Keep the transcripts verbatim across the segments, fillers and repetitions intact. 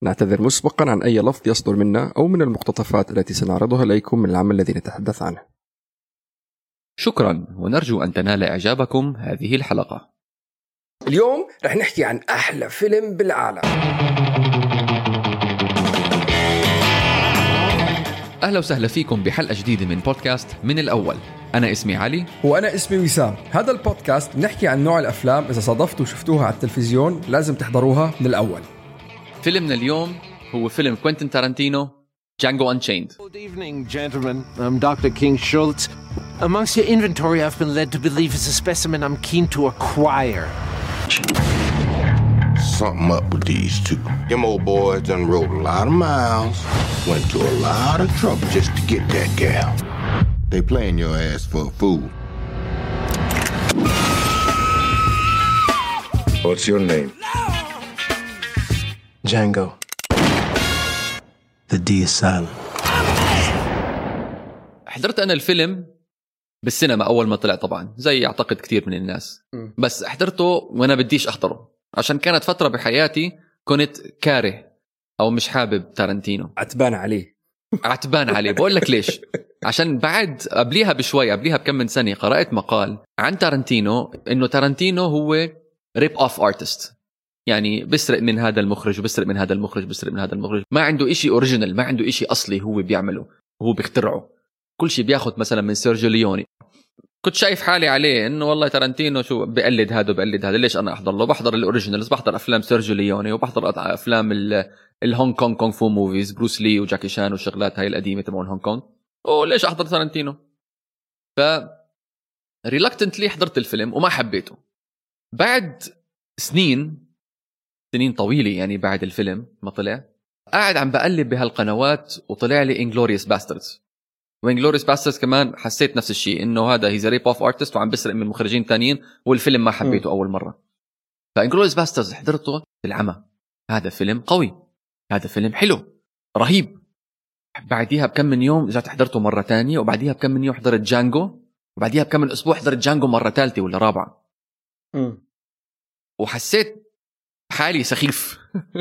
نعتذر مسبقا عن أي لفظ يصدر منا أو من المقتطفات التي سنعرضها إليكم من العمل الذي نتحدث عنه. شكرا، ونرجو أن تنال إعجابكم هذه الحلقة. اليوم رح نحكي عن أحلى فيلم بالعالم. أهلا وسهلا فيكم بحلقة جديدة من بودكاست من الأول. أنا اسمي علي وأنا اسمي وسام. هذا البودكاست نحكي عن نوع الأفلام إذا صادفتوا وشفتوها على التلفزيون لازم تحضروها من الأول. فيلمنا اليوم هو فيلم كوينتين تارانتينو Django Unchained. Good evening, gentlemen. I'm Doctor King Schultz. Amongst your inventory, I've been led to believe is a specimen I'm keen to acquire. Something up with these two. Them old boys done rode a lot of miles, went to a lot of trouble just to get that gal. They playing your ass for a fool. What's your name? Django. The D is silent. حضرت أنا الفيلم بالسينما أول ما طلع طبعا زي أعتقد كتير من الناس، بس حضرته وأنا بديش أحضره عشان كانت فترة بحياتي كنت كاره أو مش حابب تارانتينو. عتبان عليه عتبان عليه. بقول لك ليش؟ عشان بعد قبليها بشوي قبليها بكم من سنة قرأت مقال عن تارانتينو إنه تارانتينو هو ريب أوف أرتست، يعني بسرق من هذا المخرج وبسرق من هذا المخرج بسرق من هذا المخرج، ما عنده إشي أوريجينال، ما عنده إشي أصلي هو بيعمله وهو بيخترعه، كل شيء بياخد مثلا من سيرجيو ليوني. كنت شايف حالي عليه إنه والله تارانتينو شو بقلد هذا وبقلد هذا، ليش أنا أحضر له؟ بحضر الأوريجينالز، بحضر أفلام سيرجيو ليوني وبحضر أفلام الهونغ كونغ كونغ فو موفيز، بروس لي وجاكي شان والشغلات هاي القديمة تبعون هونغ كونغ، وليش أحضر تارانتينو؟ ف ريلاكتنتلي حضرت الفيلم وما حبيته. بعد سنين سنين طويلة يعني بعد الفيلم ما طلع، قاعد عم بقلب بهالقنوات وطلع لي Inglourious Basterds. وإنجلوريوس باسترز كمان حسيت نفس الشيء، إنه هذا هيز ريب أوف أرتست وعم بسرق من مخرجين تانيين، والفيلم ما حبيته م. أول مرة. فإنجلوريوس باسترز حضرته بالعمى، هذا فيلم قوي، هذا فيلم حلو رهيب. بعديها بكم من يوم رجعت حضرته مرة تانية، وبعديها بكم من يوم حضرت جانجو، وبعديها بكم من أسبوع حضرت جانجو مرة ثالثة ولا رابعة م. وحسيت حالي سخيف.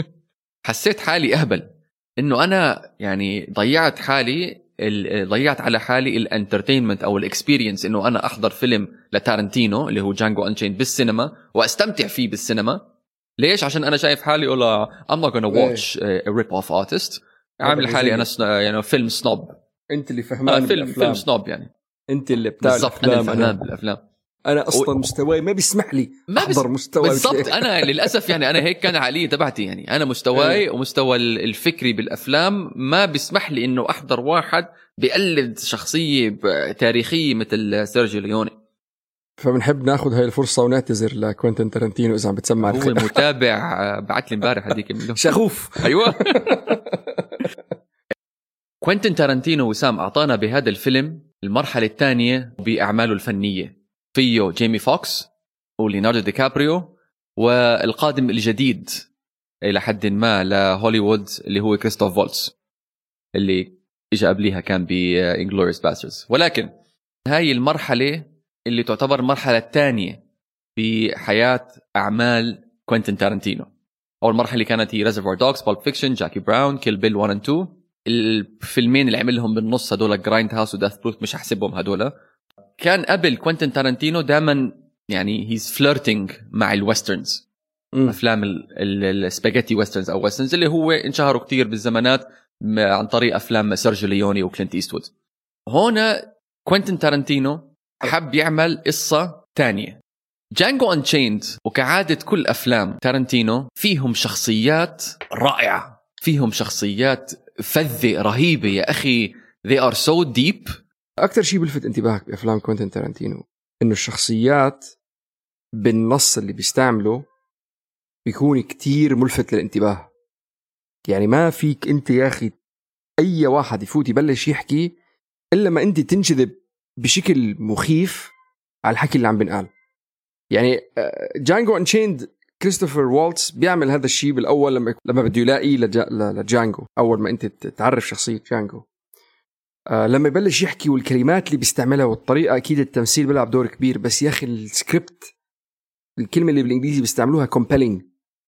حسيت حالي أهبل، إنه أنا يعني ضيعت حالي ضيعت على حالي الانترتينمنت او الاكسبيرينس، انه انا احضر فيلم لتارانتينو اللي هو جانجو انشيند بالسينما واستمتع فيه بالسينما. ليش؟ عشان انا شايف حالي ولا I'm not gonna watch a rip off artist، عامل حالي انا يعني فيلم سنوب. انت اللي فهمان آه فيلم فيلم سنوب، يعني انت اللي بتاع الافلام. انا فهمان بالافلام، انا اصلا و... مستواي ما بيسمح لي احضر بس... مستوى بالضبط. انا للاسف يعني انا هيك كان علي تبعتي، يعني انا مستواي ومستوى الفكري بالافلام ما بيسمح لي انه احضر واحد بيقلد شخصيه تاريخيه مثل سيرجيو ليوني. فبنحب ناخذ هاي الفرصه ونعتذر لكوينتين تارانتينو اذا عم بتسمع هو الخير. المتابع بعت لي امبارح هذيك شغوف. ايوه. كوينتين تارانتينو وسام اعطانا بهذا الفيلم المرحله الثانيه باعماله الفنيه، فيه جيمي فوكس وليوناردو دي كابريو، والقادم الجديد إلى حد ما لهوليوود اللي هو كريستوف فولتز اللي إجا قبليها كان بإنجلوريوس باسترز. ولكن هاي المرحلة اللي تعتبر المرحلة الثانية بحياة أعمال كوينتين تارانتينو. أول مرحلة اللي كانت هي ريزرفوير دوغز، بالب فيكشن، جاكي براون، كيل بيل واحد و اثنين. الفيلمين اللي عملهم بالنص هدول جرايند هاوس وداث بروث مش هحسبهم هدول. كان قبل كوينتين تارانتينو دائما يعني هيز فليرتينج مع الويسترنز، افلام السباجيتي ويسترنز او ويسترنز اللي هو انشهروا كتير بالزمانات عن طريق افلام سيرجيو ليوني وكلينت إيستوود. هنا كوينتين تارانتينو حب يعمل قصة تانية، جانجو أنشيند. وكعادة كل افلام تارانتينو فيهم شخصيات رائعة، فيهم شخصيات فذة رهيبة يا اخي، they are so deep. أكتر شيء بلفت انتباهك بأفلام كوينتين تارانتينو إنه الشخصيات بالنص اللي بيستعمله بيكون كتير ملفت للانتباه. يعني ما فيك أنت يا أخي أي واحد يفوت يبلش يحكي إلا ما أنت تنجذب بشكل مخيف على الحكي اللي عم بنقال. يعني جانجو أنشيند كريستوفر والتز بيعمل هذا الشيء بالأول لما لما بده يلاقي لجانجو، أول ما أنت تعرف شخصية جانجو، آه لما يبلش يحكي والكلمات اللي بيستعملها والطريقة، أكيد التمثيل بيلعب دور كبير، بس يا أخي السكريبت الكلمة اللي بالإنجليزي بيستعملوها compelling،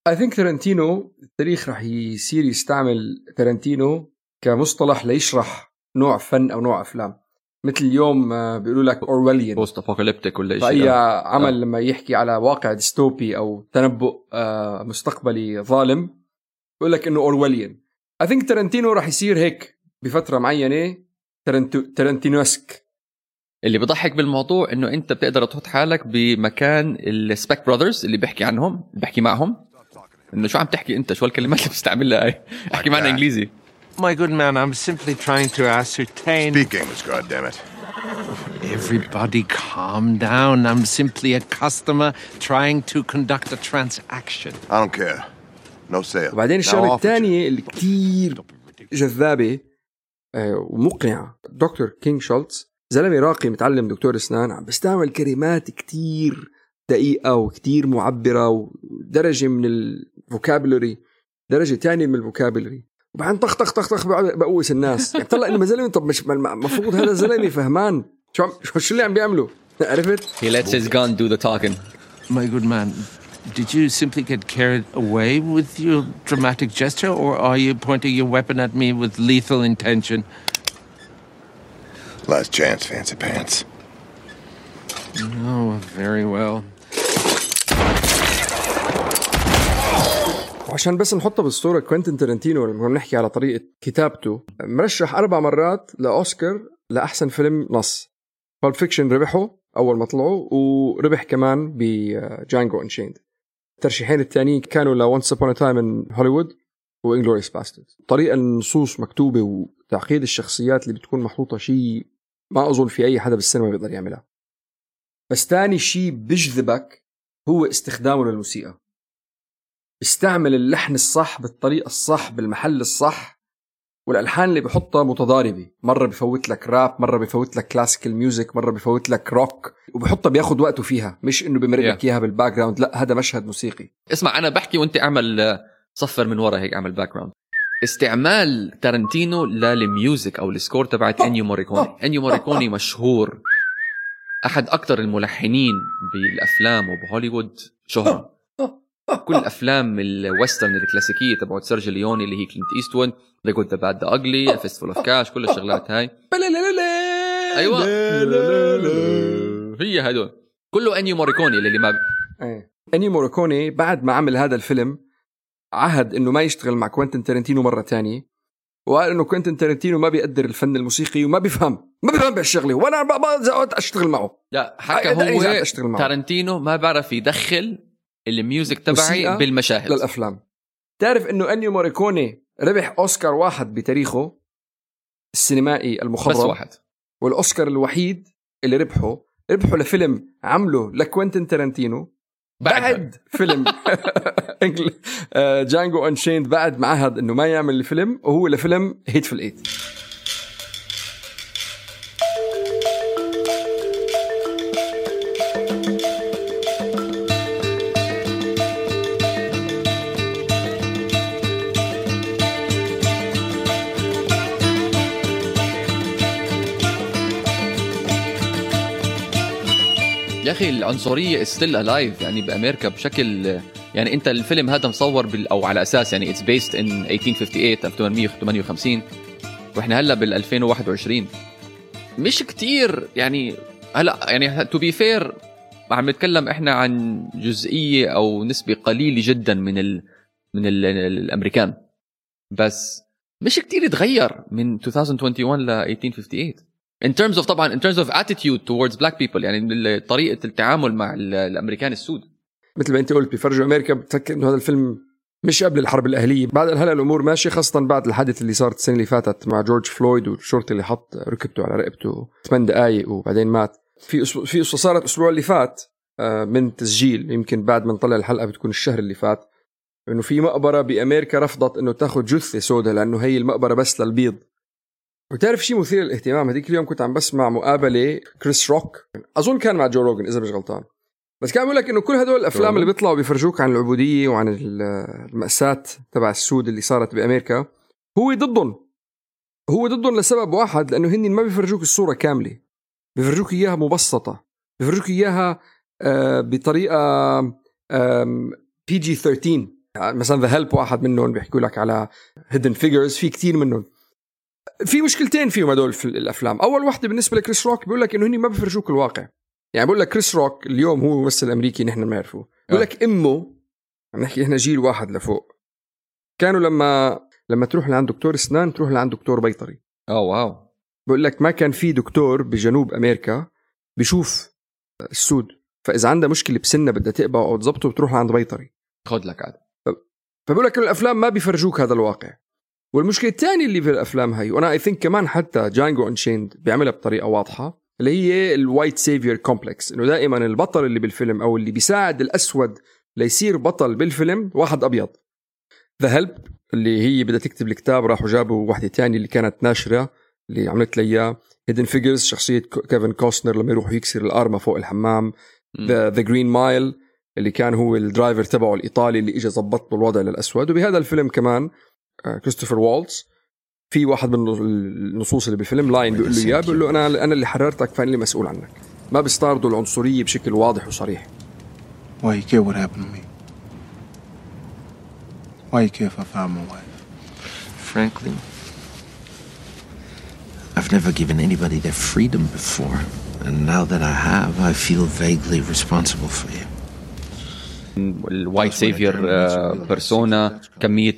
I think تارانتينو التاريخ راح يصير يستعمل تارانتينو كمصطلح ليشرح نوع فن أو نوع أفلام. مثل اليوم بيقولوا لك أورويليان بوست أبوكاليبتيك ولا شيء. فأي عمل آه. لما يحكي على واقع ديستوبي أو تنبؤ مستقبلي ظالم بيقول لك إنه أورويليان. I think تارانتينو راح يصير هيك بفترة معينة تارنتو تارانتينوسك. اللي بضحك بالموضوع إنه أنت بتقدر تحط حالك بمكان السبيك براذرز اللي بيحكي عنهم بيحكي معهم إنه شو عم تحكي أنت، شو الكلمات اللي بتستعملها هاي، احكي معنا إنجليزي. My good man, I'm simply trying to ascertain... Speak English, goddammit. Everybody calm down. I'm simply a customer trying to conduct a transaction. I don't care. No sale. وبعدين الشغلة الثانية اللي كتير جذابة ومقنعة، دكتور كينغ شولتز زلمة راقي متعلم دكتور أسنان، عم بيستعمل كلمات كتير دقيقة وكتير معبرة ودرجة من الفوكابولري، درجة تانية من الفوكابولري، وبعدين طخ طخ طخ طخ بقوس الناس. يعني طلع إنه زلمة، طب مش مفروض هذا زلمة فهمان شو شو اللي عم بيعملوا؟ عرفت؟ He lets his gun do the talking. My good man, did you simply get carried away with your dramatic gesture, or are you pointing your weapon at me with lethal intention? Last chance, fancy pants. Oh, very well. وعشان بس نحطه بالصورة، كوينتين تارانتينو لما نحكي على طريقة كتابته مرشح أربع مرات لأوسكار لأحسن فيلم نص. Pulp Fiction ربحه أول ما طلعوا، وربح كمان بجانجو أنشيند. الترشيحين الثانيين كانوا ل Once Upon a Time in Hollywood و Inglourious Basterds. طريقة النصوص مكتوبة وتعقيد الشخصيات اللي بتكون محطوطة شيء ما أظن في أي حدا بالسينما بيقدر يعملها. بس تاني شيء بجذبك هو استخدامه للموسيقى. استعمل اللحن الصح بالطريقة الصح بالمحل الصح، والألحان اللي بحطها متضاربة، مرة بفوت لك راب، مرة بفوت لك كلاسيكال ميوزك، مرة بفوت لك روك، وبحطها بياخد وقته فيها، مش إنه بمرق لك إياها بالباك جراوند. لا، هذا مشهد موسيقي. اسمع أنا بحكي وأنت أعمل صفر من ورا هيك، أعمل باك جراوند. استعمال تارانتينو للميوزك أو السكور تبعت أنيو موريكوني. أنيو موريكوني مشهور، أحد أكتر الملحنين بالأفلام وبهوليوود شهرة. كل أفلام الويسترن الكلاسيكية تبعت سيرجيو ليوني اللي هي كلينت إيستوود، The Good, The Bad, The Ugly, A Fistful of Cash، كل الشغلات هاي. أيوة هي هدول كله أنيو موريكوني. اللي ما أنيو موريكوني بعد ما عمل هذا الفيلم عهد إنه ما يشتغل مع كوينتين تارانتينو مرة تانية، وقال إنه كوينتين تارانتينو ما بيقدر الفن الموسيقي وما بيفهم ما بيفهم بالشغلة، وأنا ما أشتغل معه. لا، حكى هو تارانتينو ما بعرف يدخل الميوزك تبعي بالمشاهد للأفلام. تعرف إنه أنيو موريكوني ربح أوسكار واحد بتاريخه السينمائي المخضرم، بس واحد، والأوسكار الوحيد اللي ربحه ربحه لفيلم عمله لكوينتين تارانتينو بعد, بعد فيلم جانجو أنشيند، بعد معهد إنه ما يعمل الفيلم، وهو لفيلم هيتفul إيت. يا أخي العنصرية still alive يعني بأمريكا بشكل، يعني أنت الفيلم هذا مصور بال أو على أساس يعني it's based in ألف وثمانمية وثمانية وخمسين وإحنا هلا بال ألفين وواحد وعشرين. مش كتير يعني هلا يعني to be fair عم نتكلم إحنا عن جزئية أو نسبة قليلة جدا من ال من ال الأمريكان، بس مش كتير يتغير من ألفين وواحد وعشرين ل ألف وثمانمية وخمسة وثمانين in terms of طبعا in terms of attitude towards black people، يعني طريقة التعامل مع الأمريكان السود. مثل ما أنت قلت بيفرجوا أمريكا، بتفكر إنه هذا الفيلم مش قبل الحرب الأهلية، بعد هلا الأمور ماشية، خاصة بعد الحادث اللي صارت السنة اللي فاتت مع جورج فلويد والشرطي اللي حط ركبته على رقبته ثمان دقايق وبعدين مات. في أسبوع في قصة صارت الأسبوع اللي فات من تسجيل، يمكن بعد ما نطلع الحلقة بتكون الشهر اللي فات، إنه في مقبرة بأمريكا رفضت إنه تاخد جثة سوداء لأنه هي المقبرة بس للبيض. وتعرف شيء مثير للاهتمام، هذيك اليوم كنت عم بسمع مقابلة كريس روك، أظن كان مع جو روغن إذا مش غلطان، بس كان بيقول لك إنه كل هدول الأفلام اللي بيطلعوا بيفرجوك عن العبودية وعن المأساة تبع السود اللي صارت بأمريكا هو ضدهم، هو ضدهم لسبب واحد، لأنه هني ما بيفرجوك الصورة كاملة، بيفرجوك إياها مبسطة، بيفرجوك إياها بطريقة بي جي ثيرتين، مثلا ذا هيلب واحد منهم بيحكوا لك على هيدن فيجرز، في كتير منهم. في مشكلتين فيهم هدول في الافلام. اول واحده بالنسبه لكريس روك بيقول لك انه هني ما بفرجوك الواقع. يعني بقول لك كريس روك اليوم هو ممثل امريكي نحن ما نعرفه، بقول لك امه عم نحكي احنا جيل واحد لفوق، كانوا لما لما تروح لعند دكتور اسنان تروح لعند دكتور بيطري. اه واو. بقول لك ما كان في دكتور بجنوب امريكا بيشوف السود، فاذا عنده مشكله بسنه بدها تقبع او تزبطه بتروح لعند بيطري خد لك عاد. فبقول لك الافلام ما بيفرجوك هذا الواقع. والمشكله الثانيه اللي في الافلام هاي، وانا اي ثينك كمان حتى جانجو انشيند بيعملها بطريقه واضحه، اللي هي الوايت سيفير كومبلكس، انه دائما البطل اللي بالفيلم او اللي بيساعد الاسود ليصير بطل بالفيلم واحد ابيض. ذا هيلب اللي هي بدها تكتب الكتاب راحوا جابوا واحده تانية اللي كانت ناشره اللي عملت لي اياه. هيدن فيجرز شخصيه كيفن كوستنر لما يروح يكسر الارمه فوق الحمام. ذا ذا جرين مايل اللي كان هو الدرايفر تبعه الايطالي اللي اجى ظبط له الوضع للاسود. وبهذا الفيلم كمان كريستوفر والتز في واحد من النصوص اللي بالفيلم لاين بيقول له اياه، بيقول له انا انا اللي حررتك فانا اللي مسؤول عنك. ما بيستعرضوا العنصريه بشكل واضح وصريح. Why you care what happened to me? Why you care if I found my wife? Frankly, I've never given anybody their freedom before. And now that I have, I feel vaguely responsible for you. الوايت سيفير بيرسونا، كمية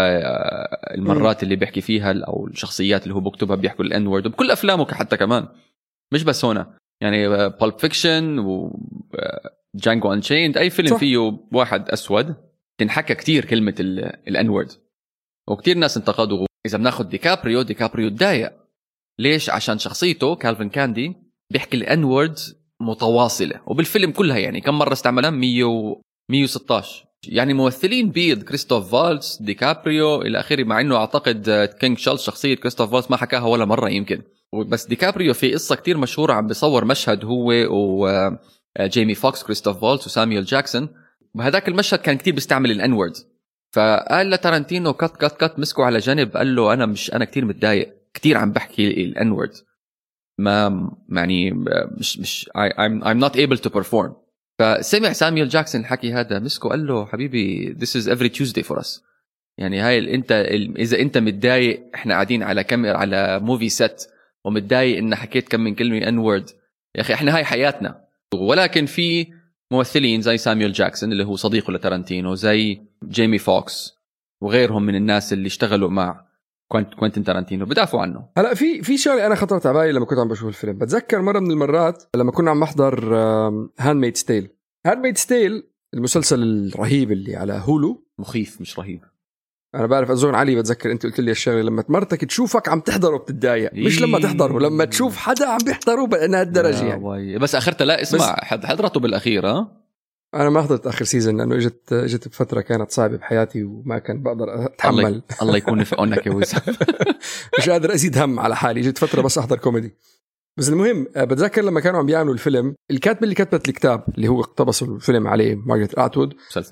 المرات اللي بيحكي فيها أو الشخصيات اللي هو بكتبها بيحكوا الان وورد بكل أفلامه حتى كمان، مش بس هنا يعني بالب فيكشن وجانجو انشيند، أي فيلم صح. فيه واحد أسود تنحكى كتير كلمة الان وورد، وكتير ناس انتقدوا. إذا بناخد ديكابريو ديكابريو تضايق ليش؟ عشان شخصيته كالفين كاندي بيحكي الان وورد متواصلة، وبالفيلم كلها يعني كم مرة استعملها؟ مية وستة عشر. يعني ممثلين بيض، كريستوف فالتز، ديكابريو إلى آخره، مع إنه أعتقد كينج شارلز شخصية كريستوف فالتز ما حكاها ولا مرة يمكن. بس ديكابريو في قصة كتير مشهورة عم بيصور مشهد هو وجيمي فوكس كريستوف فالتز وساميول جاكسون، وهذاك المشهد كان كتير بيستعمل الانورد. فقال لتارانتينو كات كات كات مسكوا على جانب قال له أنا مش أنا كتير متضايق كتير عم بحكي الانورد، ما يعني مش مش I'm I'm not able to perform. فسمع ساميول جاكسون الحكي هذا مسكه قال له حبيبي this is every Tuesday for us. يعني هاي انت اذا انت متضايق احنا قاعدين على كاميرا على موفي سيت ومتضايق ان حكيت كم من كلمه ان وورد، يا اخي احنا هاي حياتنا. ولكن في ممثلين زي ساميول جاكسون اللي هو صديقه لتارانتينو، زي جيمي فوكس وغيرهم من الناس اللي اشتغلوا مع كوينتين تارانتينو بدافعوا عنه. هلا في في شغله انا خطرت على بالي لما كنت عم بشوف الفيلم. بتذكر مره من المرات لما كنا عم نحضر هاندميد ستيل. هاندميد ستيل المسلسل الرهيب اللي على هولو، مخيف مش رهيب. انا بعرف اظن علي بتذكر انت قلت لي الشغله لما مرتك تشوفك عم تحضره بتتضايق، مش لما تحضره، لما تشوف حدا عم بيحضره بهالدرجه يعني. بس اخرتها لا اسمع حضرته بالاخير. ها انا ما حضرت اخر سيزن لانه اجت اجت بفتره كانت صعبه بحياتي وما كان بقدر اتحمل. الله, الله يكون في عونك يا وسام. مش قادر ازيد هم على حالي، اجت فتره بس احضر كوميدي. بس المهم بتذكر لما كانوا عم بيعملوا الفيلم، الكاتب اللي كتبت الكتاب اللي هو اقتبسوا الفيلم عليه مارغريت اتوود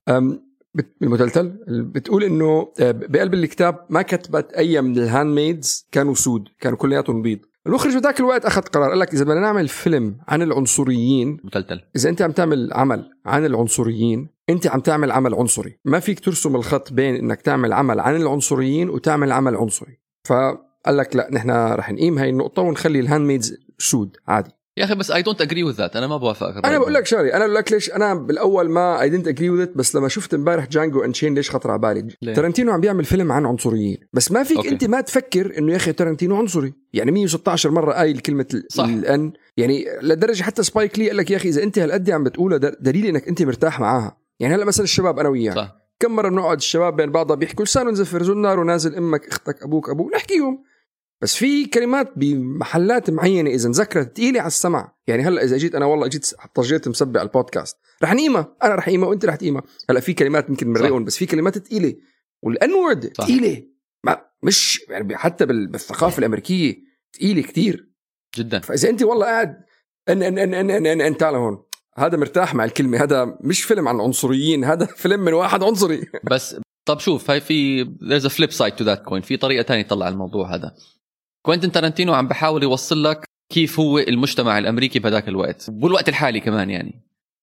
المتلتل، بتقول انه بقلب الكتاب ما كتبت اي من الهاندميدز كانوا سود، كانوا كلياتهم بيض. المخرج بذاك الوقت اخذ قرار، قال لك اذا بدنا نعمل فيلم عن العنصريين متلتل، اذا انت عم تعمل عمل عن العنصريين انت عم تعمل عمل عنصري، ما فيك ترسم الخط بين انك تعمل عمل عن العنصريين وتعمل عمل عنصري. فقال لك لا نحن رح نقيم هاي النقطه ونخلي الهاندميدز سود عادي. يا اخي بس I don't agree with that. انا ما بوافق. انا بقول لك شغله، انا بقول لك ليش انا بالاول ما I didn't agree with it، بس لما شفت امبارح جانجو انشين ليش خطر على بالي. تارانتينو عم بيعمل فيلم عن عنصريين، بس ما فيك أوكي. انت ما تفكر انه يا اخي تارانتينو عنصري. يعني مية وستة عشر مره قايل كلمه الان، يعني لدرجه حتى سبايك لي قال لك يا اخي اذا انت هالقد عم بتقولها دليل انك انت مرتاح معاها. يعني هلا مثلا الشباب انا وياك كم مره بنقعد الشباب بين بعضها بيحكوا لسانهم زفر زنار ونازل امك اختك ابوك ابوك نحكيهم، بس في كلمات بمحلات معينة إذا نذكرت تقيلة على السمع. يعني هلأ إذا جيت أنا والله جيت طجيت مسبع البودكاست رح نقيمة، أنا رح نقيمة وأنت رح تقيمة. هلأ في كلمات ممكن مرقون، بس في كلمات تقيلة، والأنورد تقيلة ما مش يعني حتى بالثقافة الأمريكية تقيلة كتير جدا. فإذا أنت والله قاعد أن أن أن أن أن, أن, أن تعال هون هذا مرتاح مع الكلمة، هذا مش فيلم عن عنصريين، هذا فيلم من واحد عنصري. بس طب شوف هاي في there's a flip side to that coin، في طريقة تانية تطلع الموضوع هذا. كوينتين تارانتينو عم بحاول يوصل لك كيف هو المجتمع الأمريكي بهذاك الوقت والوقت الحالي كمان. يعني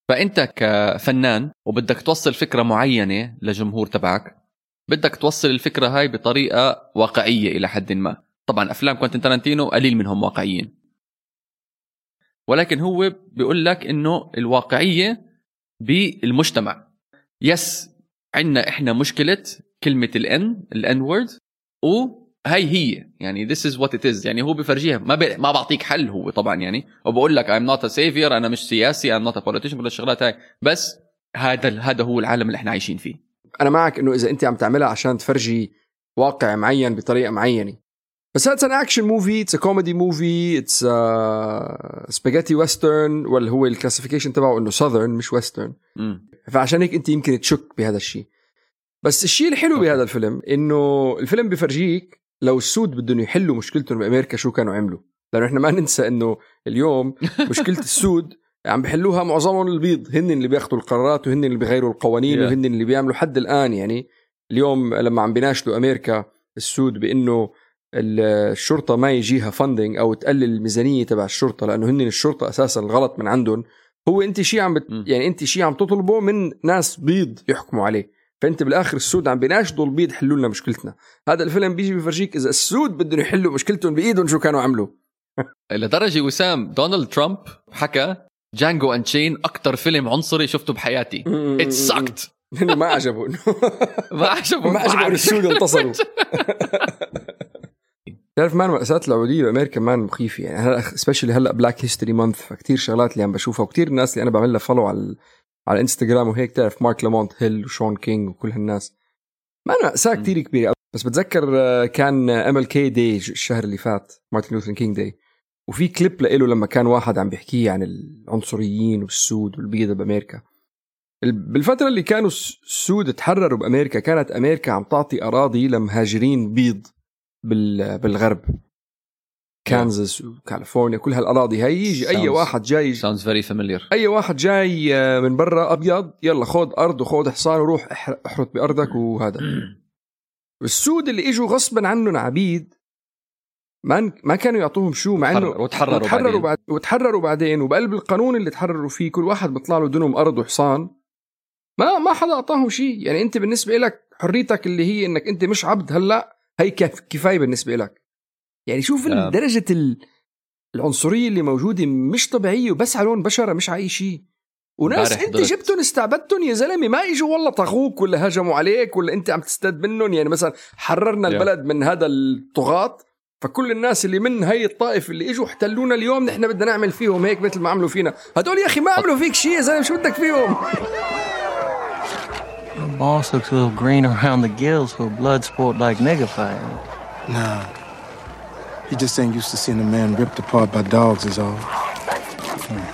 فانت كفنان وبدك توصل فكره معينه لجمهور تبعك، بدك توصل الفكره هاي بطريقه واقعيه الى حد ما. طبعا افلام كوينتين تارانتينو قليل منهم واقعيين، ولكن هو بيقول لك انه الواقعيه بالمجتمع. يس عندنا احنا مشكله كلمه الان الان وورد، وهي هي يعني this is what it is. يعني هو بفرجيها، ما بي... ما بعطيك حل هو طبعا يعني، وبقول لك I'm not a savior، انا مش سياسي، I'm not a politician، كل الشغلات هاي، بس هذا هذا هو العالم اللي احنا عايشين فيه. انا معك انه اذا انت عم تعملها عشان تفرجي واقع معين بطريقه معينه، بس هذا ان اكشن موفي، اتس كوميدي موفي، اتس سباجيتي ويسترن، ولا هو الكلاسيفيكيشن تبعه انه ساذرن مش ويسترن. فعشان هيك انت يمكن تشك بهذا الشيء. بس الشيء الحلو بهذا الفيلم انه الفيلم بفرجيك لو السود بدهم يحلوا مشكلتهم بامريكا شو كانوا عملوا، لانه احنا ما ننسى انه اليوم مشكله السود عم بحلوها معظمهم البيض، هن اللي بياخذوا القرارات وهن اللي بيغيروا القوانين yeah. وهن اللي بيعملوا حد الان. يعني اليوم لما عم بيناشدوا امريكا السود بانه الشرطه ما يجيها فاندنج او تقلل الميزانيه تبع الشرطه لانه هن الشرطه اساسا الغلط من عندهم، هو انت شيء عم بت... يعني انت شيء عم تطلبه من ناس بيض يحكموا عليه، فانت بالاخر السود عم بيناشدوا البيض حلوا لنا مشكلتنا. هذا الفيلم بيجي بيفرجيك اذا السود بدهم يحلوا مشكلتهم بايدهم شو كانوا عملوا. لدرجه وسام دونالد ترامب حكى جانجو أنشين أكتر فيلم عنصري شفته بحياتي. It sucked. ما عجبه ما عجبه ما عجبه السود انتصروا. تعرف مان مأساة العبودية بأمريكا مان مخيفة يعني، هلا especially هلا Black History Month، فكتير شغلات اللي عم بشوفها وكتير الناس اللي أنا بعملها فولو على على الانستغرام وهيك، تعرف مارك لامونت هيل وشون كينج وكل هالناس، ما مأساة كتير كبيرة. بس بتذكر كان إم إل كي Day الشهر اللي فات، مارتن لوثر كينج Day، وفي كليب لإله لما كان واحد عم بيحكيه عن العنصريين والسود والبيض بأمريكا. بالفترة اللي كانوا السود تحرروا بأمريكا كانت أمريكا عم تعطي أراضي لمهاجرين بيض بالغرب، كانزاس وكاليفورنيا، كل هالأراضي هاي يجي أي واحد جاي sounds very familiar، أي واحد جاي من برا أبيض يلا خود أرض وخود حصان وروح احرط بأرضك وهذا. السود اللي إجوا غصبا عنهم عبيد ما ما كانوا يعطوهم شو، مع انه وتحرروا وتحرروا بعد وتحرروا بعدين، وبقلب القانون اللي تحرروا فيه كل واحد بيطلع له دنهم ارض وحصان، ما ما حدا اعطاهم شيء. يعني انت بالنسبه لك حريتك اللي هي انك انت مش عبد هلا هي كفايه بالنسبه لك. يعني شوف آه. درجه العنصريه اللي موجوده مش طبيعيه، وبس على لون بشره مش على اي شيء. وناس انت جبتهم استعبدتهم يا زلمه، ما اجوا والله طغوك ولا هجموا عليك ولا انت عم تستد منهم. يعني مثلا حررنا البلد من هذا الطغاة، فكل الناس اللي من هاي الطائف اللي اجوا احتلونا اليوم نحن بدنا نعمل فيهم هيك مثل ما عملوا فينا. هدول يا اخي ما عملوا فيك شيء يا زلمه، شو بدك فيهم؟ The boss looks a little green around the gills for a blood sport like nigger fighting. Nah, he just ain't used to seeing a man ripped apart by dogs is all. Hmm.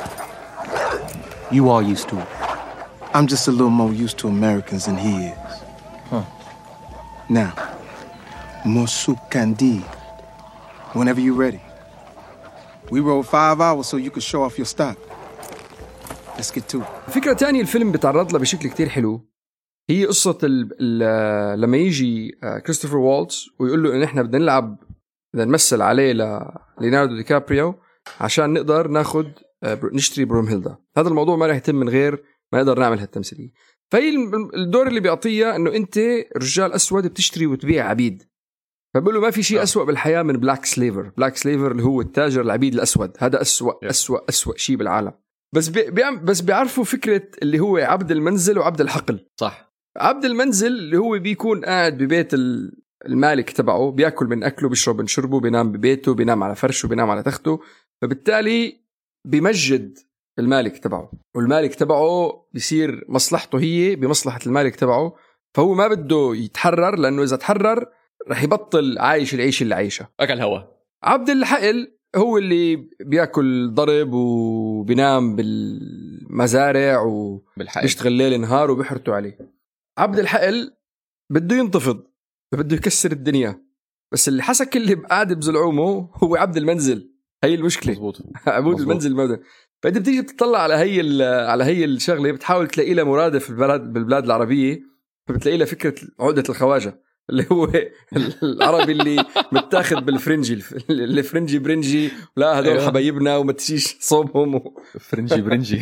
You are used to it. I'm just a little more used to Americans than he is. Huh. Now, Musukandi, whenever you're ready. We rode five hours so you could show off your stock. Let's get to it. فكرة تانية الفيلم بتعرض لها بشكل كتير حلو، هي قصة ال ال لما يجي كريستوفر والتز ويقول له إن إحنا بدنا نلعب بدنا نمثل عليه لليوناردو دي كابريو عشان نقدر ناخد نشتري برومهيلدا. هذا الموضوع ما راح يتم من غير ما نقدر نعمل هالتمثيلية. فهي الدور اللي بيعطيها إنه أنت رجال أسود بتشتري وتبيع عبيد، فبقول له ما في شيء أسوأ بالحياة من بلاك سليفر. بلاك سليفر اللي هو التاجر العبيد الأسود، هذا أسوأ أسوأ أسوأ شيء بالعالم. بس بي بس بيعرفوا فكرة اللي هو عبد المنزل وعبد الحقل. صح. عبد المنزل اللي هو بيكون قاعد ببيت المالك تبعه، بيأكل من أكله، بيشرب من شربه، بينام ببيته، بينام على فرشه، بينام على تخته، فبالتالي بيمجد المالك تبعه، والمالك تبعه بيصير مصلحته هي بمصلحة المالك تبعه، فهو ما بده يتحرر لأنه إذا تحرر رح يبطل عايش العيش اللي عايشه. أكل هوا. عبد الحقل هو اللي بياكل ضرب وبينام بالمزارع وبيشتغل ليل نهار وبيحرتوا عليه. عبد الحقل بده ينتفض، بده يكسر الدنيا، بس اللي حسك اللي قاعد بزلعومه هو عبد المنزل. هي المشكلة. مزبوط. عبود المنزل موجود. فأنت بتيجي بتطلع على هي على هي الشغلة، بتحاول تلاقي لها مرادف في البلاد بالبلاد العربية، فبتلاقي لها فكرة عقدة الخواجة. اللي هو العربي اللي متاخد بالفرنجي اللي فرنجي برنجي لا هدول حبايبنا وما تشيش صوبهم فرنجي برنجي.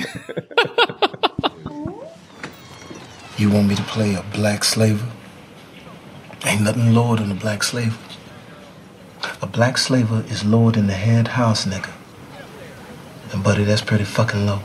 You want me to play a black slaver? Ain't nothing lower than a black slaver. A black slaver is lower than the head house nigga. And buddy, that's pretty fucking low.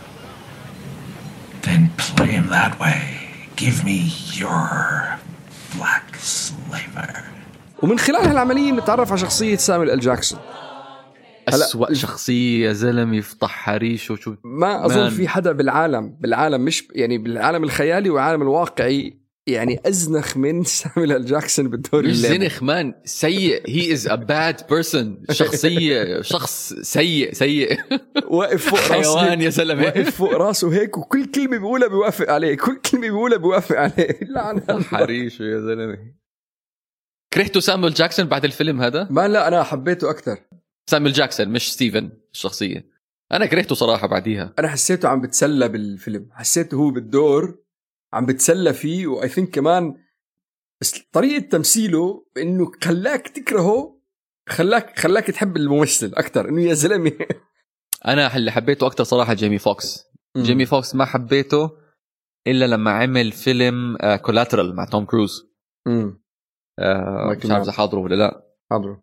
Then play him that way. Give me your black slaver. ومن خلال هالعملية نتعرف على شخصية سامويل إل جاكسون. أسوأ شخصية يا زلمة يفضح حريش وشو ما أظن في حدا بالعالم بالعالم مش يعني بالعالم الخيالي والعالم الواقعي يعني أزنخ من سامويل إل جاكسون بالدور مش اللي زنخ مان سيء. he is a bad person. شخصية شخص سيء سيء واقف فوق راسه حيوان يا زلمة واقف فوق راسه هيك وكل كلمة بيقولها بيوافق عليه كل كلمة بيقولها بيوافق عليه. لعنة حريش يا زلمة. كرهتوا سامويل جاكسون بعد الفيلم هذا؟ ما لا أنا حبيته أكتر. سامويل جاكسون مش ستيفن الشخصية. أنا كرهته صراحة بعديها. أنا حسيته عم بتسلى بالفيلم حسيته هو بالدور عم بتسلى فيه وآي ثينك كمان بس طريقة تمثيله إنه خلاك تكرهه خلاك خلاك تحب الممثل أكتر إنه يا زلمة. أنا اللي حبيته أكتر صراحة جيمي فوكس. م. جيمي فوكس ما حبيته إلا لما عمل فيلم كولاترال مع توم كروز. امم آه مش عارف إذا حاضره ولا لا. حاضره.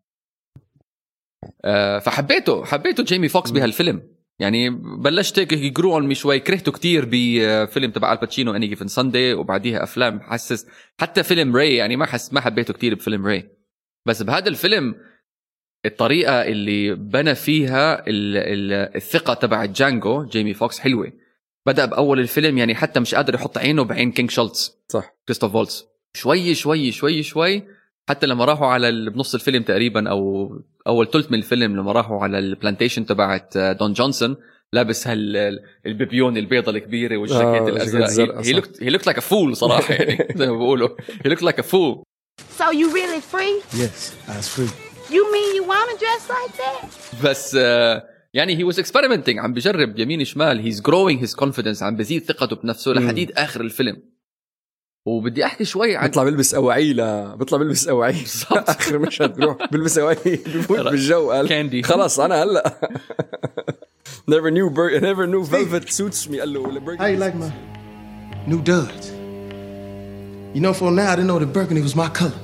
آه فحبيته حبيته جيمي فوكس بهالفيلم. يعني بلشت يجرو على مي شوي. كرهته كتير بفيلم تبع الباتشينو اني جيفن ساندي وبعديها افلام حسس حتى فيلم راي يعني ما حس ما حبيته كتير بفيلم راي. بس بهذا الفيلم الطريقه اللي بنى فيها ال ال الثقه تبع جانجو جيمي فوكس حلوه. بدا باول الفيلم يعني حتى مش قادر يحط عينه بعين كينغ شولتز صح كريستوف فولتز. شوي شوي شوي شوي حتى لما راحوا على بنص الفيلم تقريبا او اول ثلث من الفيلم لما راحوا على البلانتيشن تبعت دون جونسون لابس هالبيبيون البيضه الكبيره والجاكيت آه الازرق. he looked he looked like a fool صراحه يعني زي ما بيقولوا he looked like a fool. So you really free? Yes, I was free. You mean you want to dress like that? بس uh, يعني he was experimenting عم بجرب يمين شمال. he's growing his confidence عم بزيد ثقته بنفسه لحديد اخر الفيلم. وبدي احكي شوي عن بيطلع بلبس أواعي لا بيطلع بلبس أواعي آخر مشهد بروح بلبس أواعي بفوت بالجو قال كاندي خلاص أنا هلا never knew bur- never knew velvet suits me قال له How you like my new duds? You know for now I didn't know that burgundy was my color.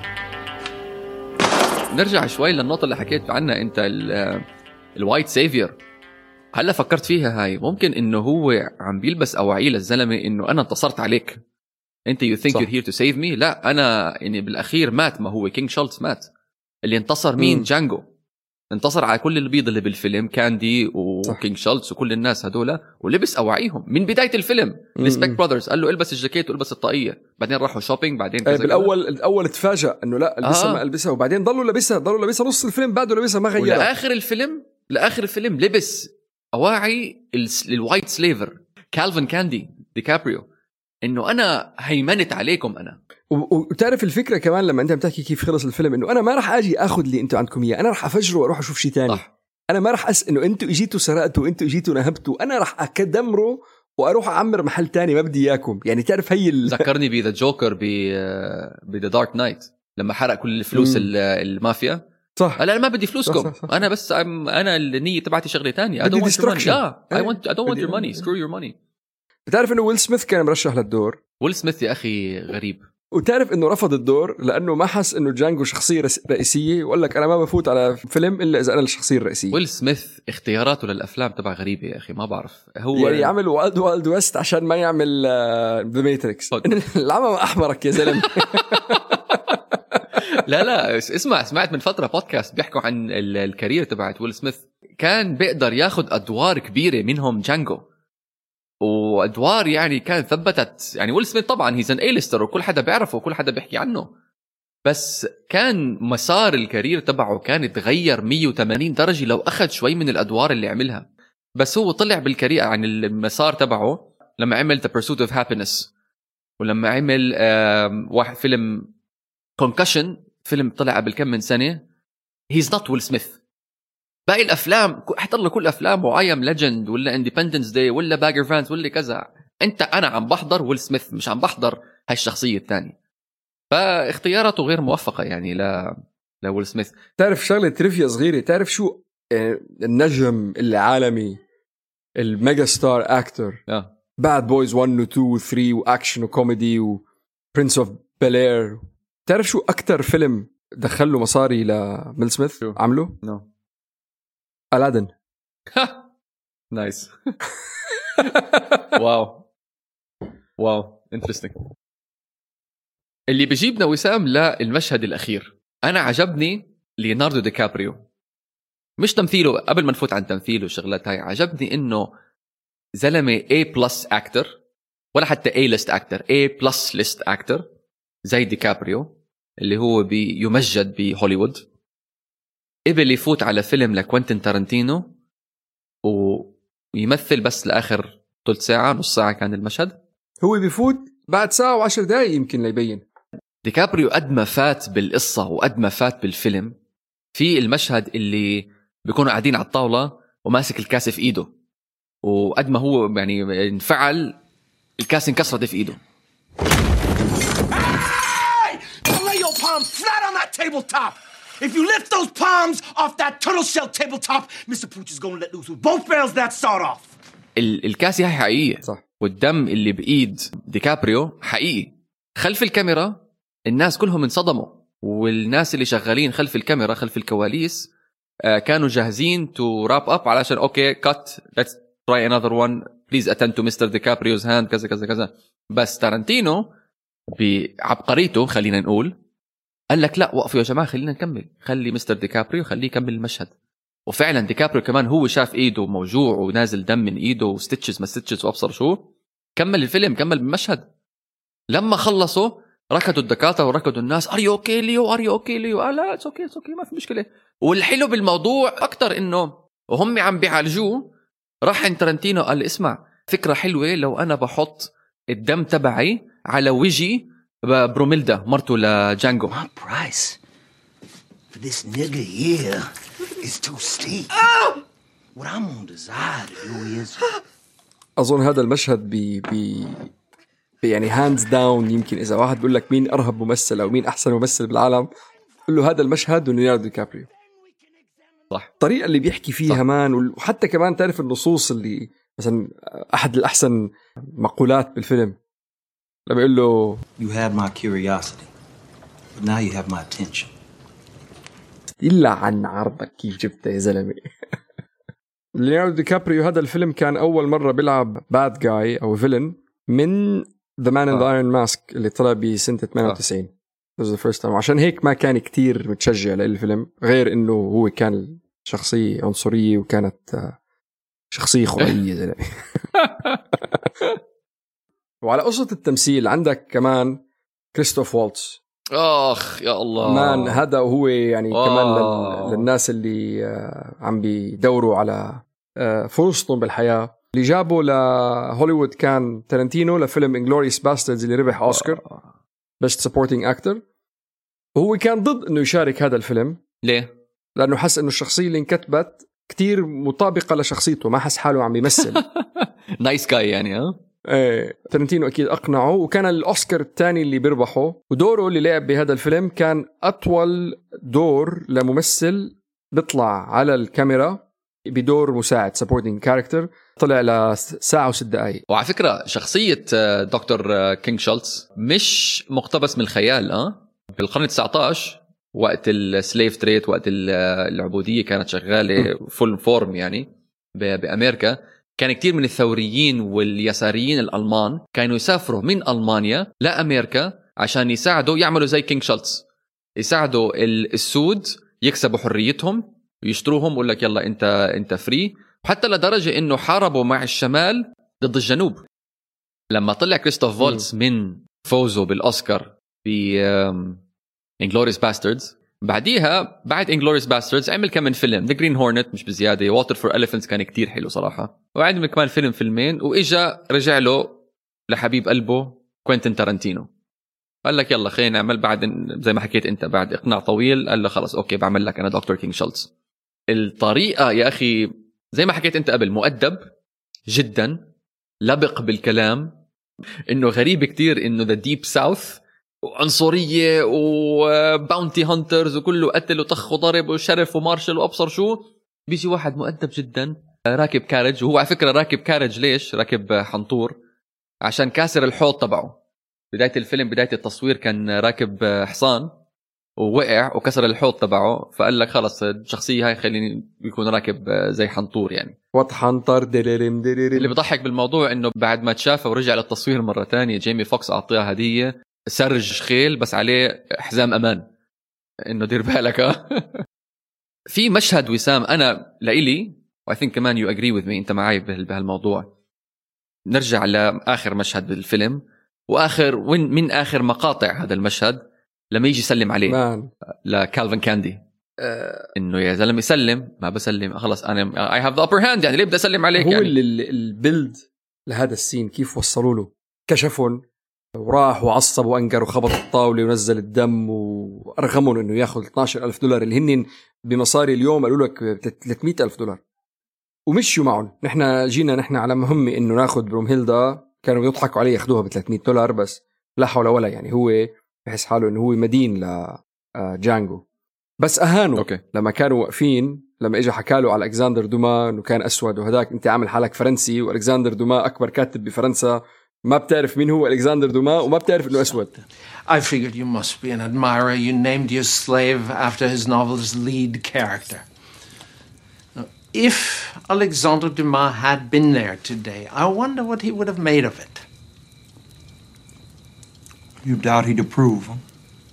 نرجع شوي للنقطة اللي حكيت عنها أنت الوايت سيفير. هلا فكرت فيها هاي ممكن إنه هو عم بيلبس أواعي للزلمة إنه أنا انتصرت عليك انت you think صح. you're here to save me. لا انا يعني بالاخير مات. ما هو كينغ شولتز مات. اللي انتصر مين؟ مم. جانجو انتصر على كل البيض اللي بالفيلم كاندي وكينغ شولتز وكل الناس هدول ولبس أواعيهم من بداية الفيلم. السبيك براذرز قال له البس الجاكيت والبس الطاقية. بعدين راحوا شوبينج بعدين كذا بالاول الاول تفاجأ انه لا البسها آه. ما البسها وبعدين ضلوا لبسها ضلوا لبسها نص الفيلم بعده لبسها ما غيرها. لاخر الفيلم لاخر الفيلم لبس أواعي الوايت سليفر كالفن كاندي ديكابريو انه انا هيمنت عليكم انا. وتعرف الفكره كمان لما انت بتحكي كيف خلص الفيلم انه انا ما راح اجي اخذ اللي انتم عندكم اياه. انا راح افجره واروح اشوف شيء ثاني. انا ما راح أس انه انتم اجيتوا سرقتوا انتم اجيتوا نهبتوا. انا راح اكدمره واروح اعمر محل تاني ما بدي اياكم. يعني تعرف هي ال... ذكرني بذا جوكر ب بذا دارك نايت لما حرق كل الفلوس المافيا. صح. انا ما بدي فلوسكم. صح صح صح. انا بس انا النيه تبعتي شغله ثانيه. I don't want your money. yeah. I want I don't want your money. Screw your money. بتعرف انه ويل سميث كان مرشح للدور. ويل سميث يا اخي غريب. وتعرف انه رفض الدور لانه ما حس انه جانجو شخصيه رئيسيه وقال لك انا ما بفوت على فيلم الا اذا انا الشخصيه الرئيسيه. ويل سميث اختياراته للافلام تبع غريبه يا اخي ما بعرف. هو يعني يعمل وايلد وايلد ويست عشان ما يعمل ذا ماتريكس. العمى احمرك يا زلمه. لا لا اسمع سمعت من فتره بودكاست بيحكوا عن الكارير تبعت ويل سميث. كان بيقدر ياخذ ادوار كبيره منهم جانجو وادوار يعني كان ثبتت. يعني ويل سميث طبعا هيز ان ايليستر وكل حدا بيعرفه وكل حدا بيحكي عنه. بس كان مسار الكارير تبعه كان يتغير مية وثمانين درجه لو اخذ شوي من الادوار اللي عملها. بس هو طلع بالكارير عن المسار تبعه لما عمل The Pursuit of Happiness ولما عمل واحد فيلم Concussion فيلم طلع قبل كم من سنه. he's not ويل سميث. باقي الافلام احضر له كل افلامه I am Legend ولا Independence Day ولا Bagger Vance ولا كذا. انت انا عم بحضر ويل سميث مش عم بحضر هالشخصيه الثانيه. فاختياراته غير موفقة يعني ل لويل سميث. تعرف شغلة تريفيا صغيرة، تعرف شو النجم العالمي الميجا ستار اكتور اه باد بويز واحد و اثنين و ثلاثة واكشن وكوميدي وبرنس اوف بيل، تعرف شو اكتر فيلم دخله مصاري لميل سميث شو؟ عمله؟ نو ألادين. نايس. واو واو انترستينج. اللي بيجيبنا وسام للمشهد الأخير، أنا عجبني ليوناردو دي كابريو، مش تمثيله قبل ما نفوت عن تمثيله الشغلات هاي، عجبني إنه زلمة A plus actor ولا حتى A list actor، A plus list actor زي دي كابريو اللي هو بيمجد بهوليوود، قبل يفوت على فيلم لكوينتين تارانتينو ويمثل بس لآخر ثلث ساعة نص ساعة كان المشهد، هو بيفوت بعد ساعة وعشر دقايق يمكن ليبين. ديكابريو قد ما فات بالقصة وقد ما فات بالفيلم، في المشهد اللي بيكونوا قاعدين على الطاولة وماسك الكاس في إيده، وقد ما هو يعني انفعل الكاس انكسرت في إيده. Hey! Don't lay your palms flat on that tabletop. If you lift those palms off that turtle shell tabletop, Mister Pooch is going to let loose with both barrels that sawed off. ال- الكاسة هي حقيقية صح. والدم اللي بإيد ديكابريو حقيقي. خلف الكاميرا الناس كلهم انصدموا، والناس اللي شغالين خلف الكاميرا خلف الكواليس آه كانوا جاهزين to wrap up علشان okay cut let's try another one please attend to Mister DiCaprio's hand كذا كذا كذا. بس تارانتينو بعبقريته خلينا نقول قال لك لا وقفوا يا جماعة خلينا نكمل، خلي مستر ديكابريو خليه يكمل المشهد. وفعلا ديكابريو كمان هو شاف ايده موجوع ونازل دم من ايده وستيتشز ما ستيتشز وابصر شو، كمل الفيلم كمل بالمشهد. لما خلصوا ركضوا الدكاتره وركضوا الناس ار يو اوكي ليو ار يو اوكي ليو آه لا اتس اوكي اتس اوكي ما في مشكله. والحلو بالموضوع اكتر انه وهم عم بيعالجوه راح عند تارانتينو قال اسمع فكره حلوه لو انا بحط الدم تبعي على وجهي بروميلدا مرته لجانجو. My price for this nigga here is too steep. What I'm gonna desire to do is أظن هذا المشهد بي بي يعني هاندز داون، يمكن إذا واحد بيقول لك مين أرهب ممثل أو مين أحسن ممثل بالعالم قل له هذا المشهد وليوناردو دي كابريو. صح. الطريقة اللي بيحكي فيها صح. مان، وحتى كمان تعرف النصوص اللي مثلا أحد الأحسن مقولات بالفيلم لما يقول له You had my curiosity, but now you have my attention. إلا عن عرضك كيف جبته يا زلمة. ليوناردو دي كابريو هذا الفيلم كان أول مرة بيلعب باد جاي أو فيلن من The Man in the Iron Mask اللي طلع بسنة ثمانية وتسعين. This was the first time. عشان هيك ما كان كتير متشجع للفيلم، غير إنه هو كان شخصية عنصرية وكانت شخصية خرافية زلمة. وعلى قصة التمثيل عندك كمان كريستوف والتز. اخ يا الله مان هذا هو يعني آه. كمان لل... للناس اللي عم بيدوروا على فرصتهم بالحياة. اللي جابوا لهوليوود كان تارانتينو لفيلم انجلوريوس باستردز اللي ربح اوسكار بيست سبورتينج اكتر، وهو كان ضد انه يشارك هذا الفيلم. ليه؟ لانه حس انه الشخصية اللي انكتبت كتير مطابقة لشخصيته، ما حس حاله عم يمثل. نايس جاي يعني. ها ايه تارانتينو اكيد اقنعه، وكان الاوسكار الثاني اللي بيربحه، ودوره اللي لعب بهذا الفيلم كان اطول دور لممثل بيطلع على الكاميرا بدور مساعد supporting character، طلع لساعة وست دقايق. وعلى فكرة شخصية دكتور كينغ شولتز مش مقتبس من الخيال. اه بالقرن التاسع عشر وقت السليف تريد، وقت العبودية كانت شغالة فول فورم يعني بأمريكا، كان كتير من الثوريين واليساريين الألمان كانوا يسافروا من ألمانيا لأمريكا عشان يساعدوا يعملوا زي كينغ شولتز، يساعدوا السود يكسبوا حريتهم ويشتروهم ويقول لك يلا انت انت فري. وحتى لدرجه انه حاربوا مع الشمال ضد الجنوب. لما طلع كريستوف فولتز من فوزه بالاوسكار ب انجلوريوس باستردز، بعديها بعد انجلوريوس باستردز عمل كمان فيلم ذا جرين هورنت مش بزياده، ووتر فور إليفنتس كان كتير حلو صراحه، وعمل كمان فيلم فيلمين، واجا رجع له لحبيب قلبه كوينتين تارانتينو قال لك يلا خلينا نعمل بعد زي ما حكيت انت بعد اقناع طويل، قال له خلاص اوكي بعمل لك انا دكتور كينغ شولتز. الطريقه يا اخي زي ما حكيت انت قبل مؤدب جدا، لبق بالكلام، انه غريب كتير انه ذا ديب ساوث وعنصرية وباونتي هانترز وكله قتل وطخ وضرب وشرف ومارشل وأبصر شو. بيجي واحد مؤدب جدا راكب كارج، وهو على فكرة راكب كارج ليش؟ راكب حنطور عشان كاسر الحوض تبعه. بداية الفيلم بداية التصوير كان راكب حصان ووقع وكسر الحوض تبعه، فقال لك خلص الشخصية هاي خليني يكون راكب زي حنطور يعني وطحنطر دليرم دليرم. اللي بضحك بالموضوع انه بعد ما تشافه ورجع للتصوير مرة تانية جيمي فوكس اعطيها هدية سرج خيل بس عليه حزام امان انه دير بالك. في مشهد وسام انا لإلي I think كمان you agree with me انت معي بهالموضوع. نرجع لآخر مشهد بالفيلم واخر وين من اخر مقاطع هذا المشهد لما يجي يسلم عليه مان. لكالفن كاندي أه انه يا زلمه يسلم ما بسلم خلص انا اي هاف ذا ابر هاند يعني ليه بدي اسلم عليك. هو يعني البيلد لهذا السين كيف وصلوا له كشفهم وراح وعصب وانقر وخبط الطاوله ونزل الدم وارغمهم انه ياخذ اثناشر ألف دولار اللي هن بمصاري اليوم قالوا لك ثلاثمية ألف دولار ومشوا معهم. نحن جينا نحن على مهمه انه ناخذ برومهيلدا كانوا يضحكوا عليه ياخذوها ب ثلاثمية دولار بس لا حول ولا يعني هو بحس حاله انه هو مدين لجانجو بس اهانوا أوكي. لما كانوا واقفين لما اجى حكاله على الكسندر دوما انه كان اسود وهداك انت عامل حالك فرنسي والكسندر دوما اكبر كاتب بفرنسا ما بتعرف مين هو الكسندر دوما وما بتعرف انه اسود. I figured you must be an admirer. You named your slave after his novel's lead character. Now, if Alexandre Dumas had been there today, I wonder what he would have made of it. You doubt he'd approve, huh?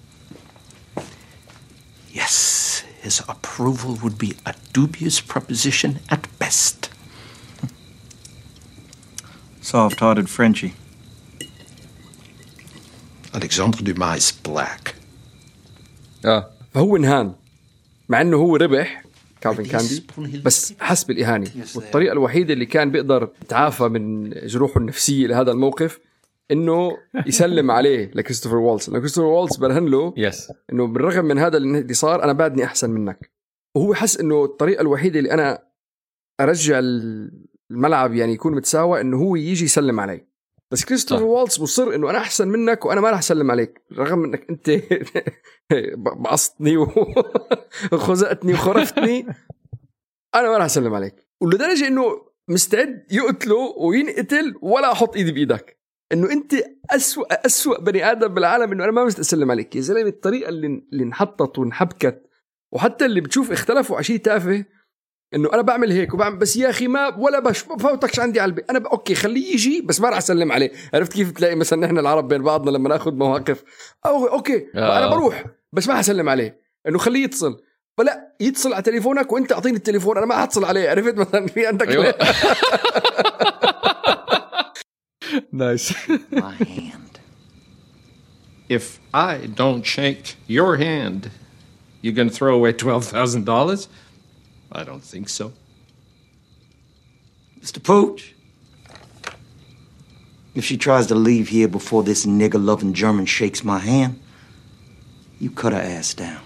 Yes, his approval would be a dubious proposition at best. Soft-hearted Frenchie. Alexandre Dumas is black. اه فهو انهان مع انه هو ربح كالفن كاندي بس حس بالإهانة والطريقة الوحيدة اللي كان بيقدر يتعافى من جروحه النفسية لهذا الموقف انه يسلم عليه لكريستوفر والتز. لأن كريستوفر والتز برهن له يس انه بالرغم من هذا اللي صار انا بعدني احسن منك وهو حس انه الطريقة الوحيدة اللي انا ارجع الملعب يعني يكون متساوى انه هو يجي يسلم علي. بس كريستوفر والتز مصر انه انا احسن منك وانا ما راح اسلم عليك رغم انك انت بعصتني وخزقتني وخرفتني انا ما راح اسلم عليك. ولدرجه انه مستعد يقتله وينقتل ولا احط ايدي بايدك انه انت اسوأ اسوأ بني ادم بالعالم انه انا ما مست اسلم عليك يا زلمه. الطريقه اللي اللي انحطت وانحبكت وحتى اللي بتشوف اختلفوا على شيء تافه انه انا بعمل هيك وبعمل بس يا اخي ما ولا بش بفوتكش عندي على البيت انا ب... اوكي خليه يجي بس ما راح اسلم عليه. عرفت كيف تلاقي مثلا نحن العرب بين بعضنا لما ناخذ مواقف أو اوكي آه. انا بروح بس ما هسلم عليه انه خليه يتصل فلا يتصل على تليفونك وانت اعطيني التليفون انا ما هتصل عليه. عرفت مثلا في عندك أيوة. Nice. My hand. If I don't shake your hand, you're going to throw away twelve thousand dollars? I don't think so. Mister Pooch, if she tries to leave here before this nigger-loving German shakes my hand, you cut her ass down.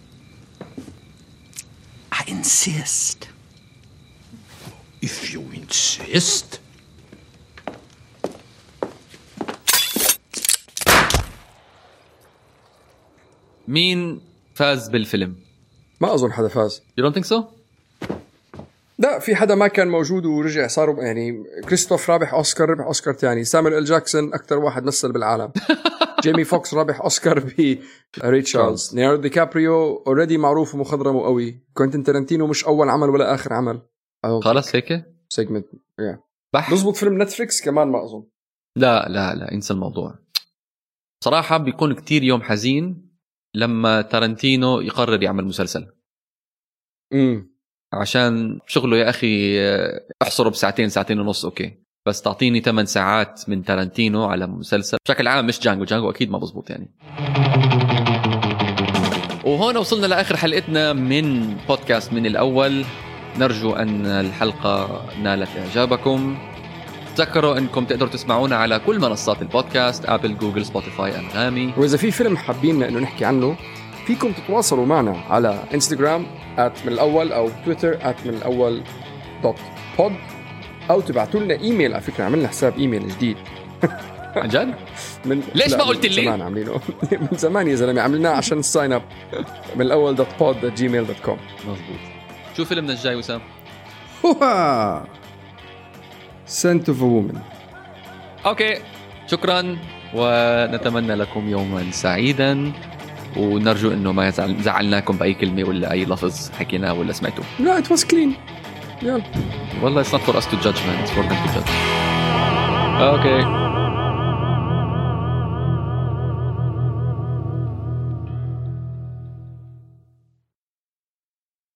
I insist. If you insist. مين فاز بالفيلم؟ ما أظن حدا فاز. You don't think so? لا في حدا ما كان موجود ورجع صاروا يعني كريستوف رابح أوسكار ربح أوسكار تاني. سامويل إل جاكسون أكتر واحد مثل بالعالم. جيمي فوكس رابح أوسكار بري تشارلز. ليوناردو دي كابريو أوريدي معروف ومخضرم وقوي. كوينتين تارانتينو مش أول عمل ولا آخر عمل. خلاص هيك؟ سيجمنت yeah. بح نظبط فيلم نتفليكس كمان ما أظن. لا لا لا انسى الموضوع. صراحة بيكون كتير يوم حزين لما تارانتينو يقرر يعمل مسلسل. امم عشان شغله يا أخي احصره بساعتين ساعتين ونص أوكي بس تعطيني ثمان ساعات من تارانتينو على مسلسل بشكل عام مش جانجو جانجو أكيد ما بزبط يعني. وهون وصلنا لآخر حلقتنا من بودكاست من الأول. نرجو أن الحلقة نالت إعجابكم. تذكروا أنكم تقدروا تسمعونا على كل منصات البودكاست أبل جوجل سبوتيفاي أنغامي. وإذا في فيلم حابين إنه نحكي عنه فيكم تتواصلوا معنا على إنستغرام آت من الأول أو تويتر آت من الأول دوت بود أو تبعتوا لنا إيميل. على فكرة عملنا حساب إيميل جديد عن جد؟ من ليش لا، ما قلت من لي؟ زمان عاملينه من زمان يا زلمه، عملناه عشان الساين اب من الاول دوت بود دوت جيميل دوت كوم. مظبوط. شو فيلمنا الجاي وسام؟ هوها سنت اوف وومن. اوكي شكرا، ونتمنى لكم يوما سعيدا، ونرجو انه ما يزعل زعلناكم باي كلمه ولا اي لفظ حكيناه ولا سمعتوه. لا ات واز كلين. يلا والله it's not for us to judge man, it's for them to judge. اوكي